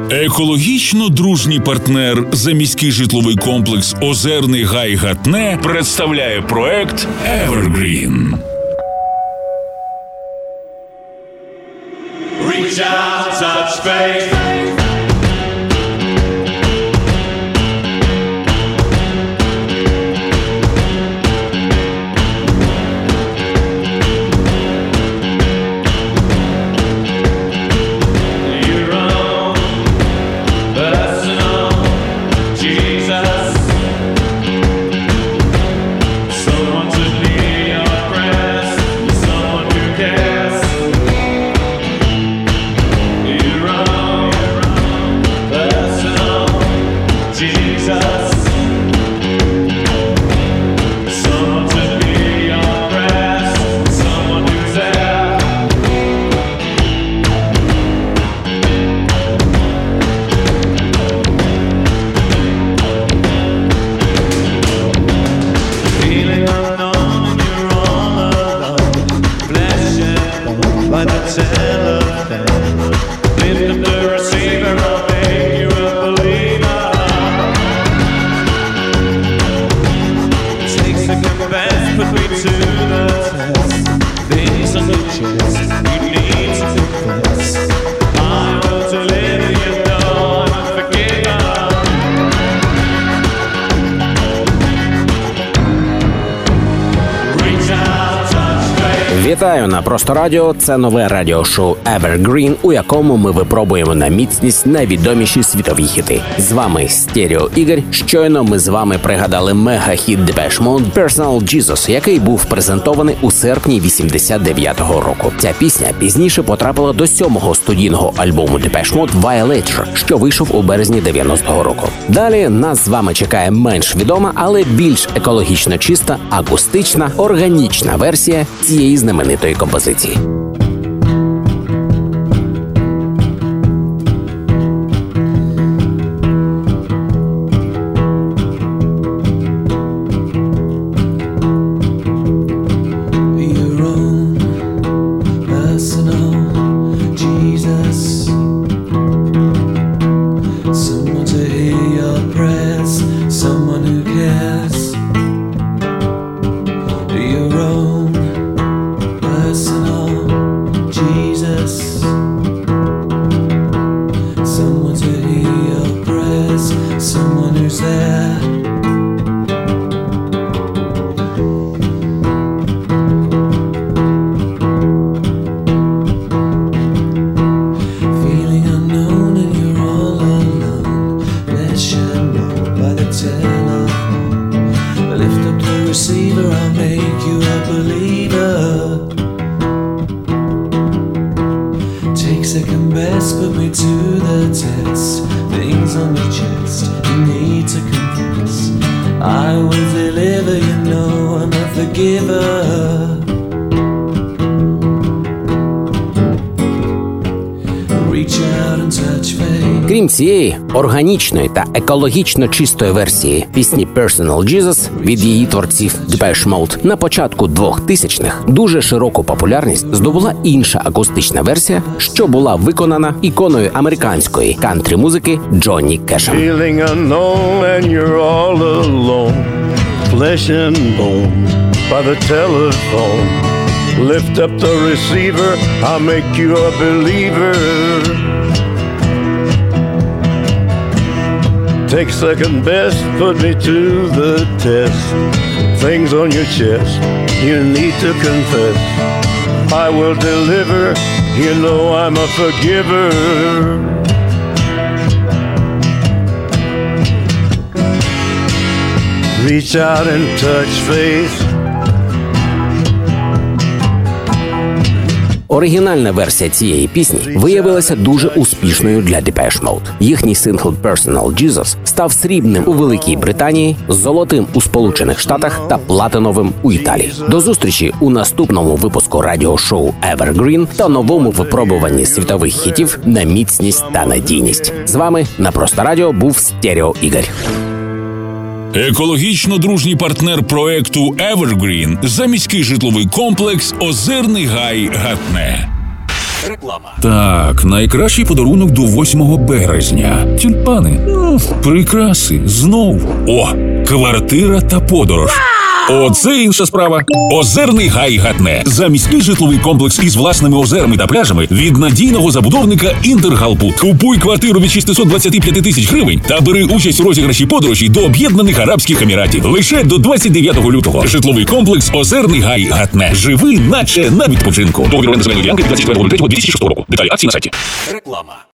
Екологічно дружній партнер заміський житловий комплекс «Озерний гай Гатне» представляє проект Evergreen. Reach out, touch faith. Вітаю на Просто Радіо. Це нове радіошоу Evergreen, у якому ми випробуємо на міцність найвідоміші світові хіти. З вами Стерео Ігор. Щойно ми з вами пригадали мега-хіт Depeche Mode «Personal Jesus», який був презентований у серпні 89-го року. Ця пісня пізніше потрапила до 7-го студійного альбому Depeche Mode «Violator», що вийшов у березні 90-го року. Далі нас з вами чекає менш відома, але більш екологічно чиста, акустична, органічна версія цієї знаменитої композиції. Крім цієї органічної та екологічно чистої версії пісні «Personal Jesus» від її творців Depeche Mode, на початку 2000-х дуже широку популярність здобула інша акустична версія, що була виконана іконою американської кантрі-музики Джонні Кешем. Lift up the receiver, I'll make you a believer. Take second best, put me to the test. Things on your chest, you need to confess. I will deliver, you know I'm a forgiver. Reach out and touch faith. Оригінальна версія цієї пісні виявилася дуже успішною для Depeche Mode. Їхній сингл «Personal Jesus» став срібним у Великій Британії, золотим у Сполучених Штатах та платиновим у Італії. До зустрічі у наступному випуску радіошоу Evergreen та новому випробуванні світових хітів на міцність та надійність. З вами на Просто Радіо був Стерео Ігор. Екологічно дружній партнер проекту Evergreen – заміський житловий комплекс «Озерний гай Гатне». Так, найкращий подарунок до 8 березня. Тюльпани. Прикраси. Знов. О, квартира та подорож. Оце інша справа. Озерний Гай Гатне. Заміський житловий комплекс із власними озерами та пляжами від надійного забудовника Інтергалпут. Купуй квартиру від 625 тисяч гривень та бери участь у розіграші подорожі до Об'єднаних Арабських Еміратів. Лише до 29 лютого. Житловий комплекс Озерний Гай Гатне. Живи, наче на відпочинку. Договір оренди земельної ділянки 24 лютого 2006 року. Деталі акції на сайті.